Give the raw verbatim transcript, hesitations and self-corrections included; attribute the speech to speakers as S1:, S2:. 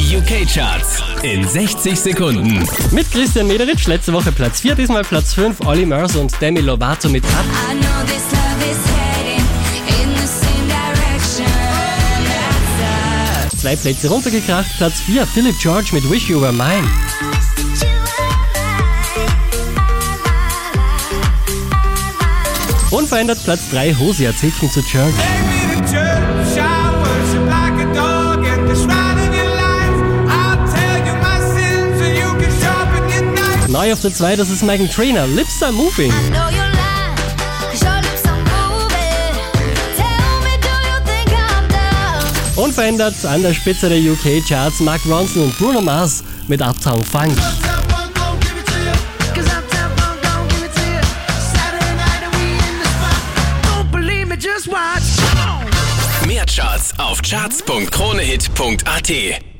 S1: U K-Charts in sechzig Sekunden.
S2: Mit Christian Mederitsch, letzte Woche Platz vier, diesmal Platz fünf, Olly Murs und Demi Lovato mit Up. Zwei Plätze runtergekracht, Platz vier, Philip George mit Wish You Were Mine. Unverändert Platz drei, Hosea, Take Me to Church. Neu auf der zwei, das ist Meghan Trainor, Lips Are Moving. Unverändert an der Spitze der U K-Charts Mark Ronson und Bruno Mars mit Uptown Funk.
S1: Mehr Charts auf charts punkt kronehit punkt at.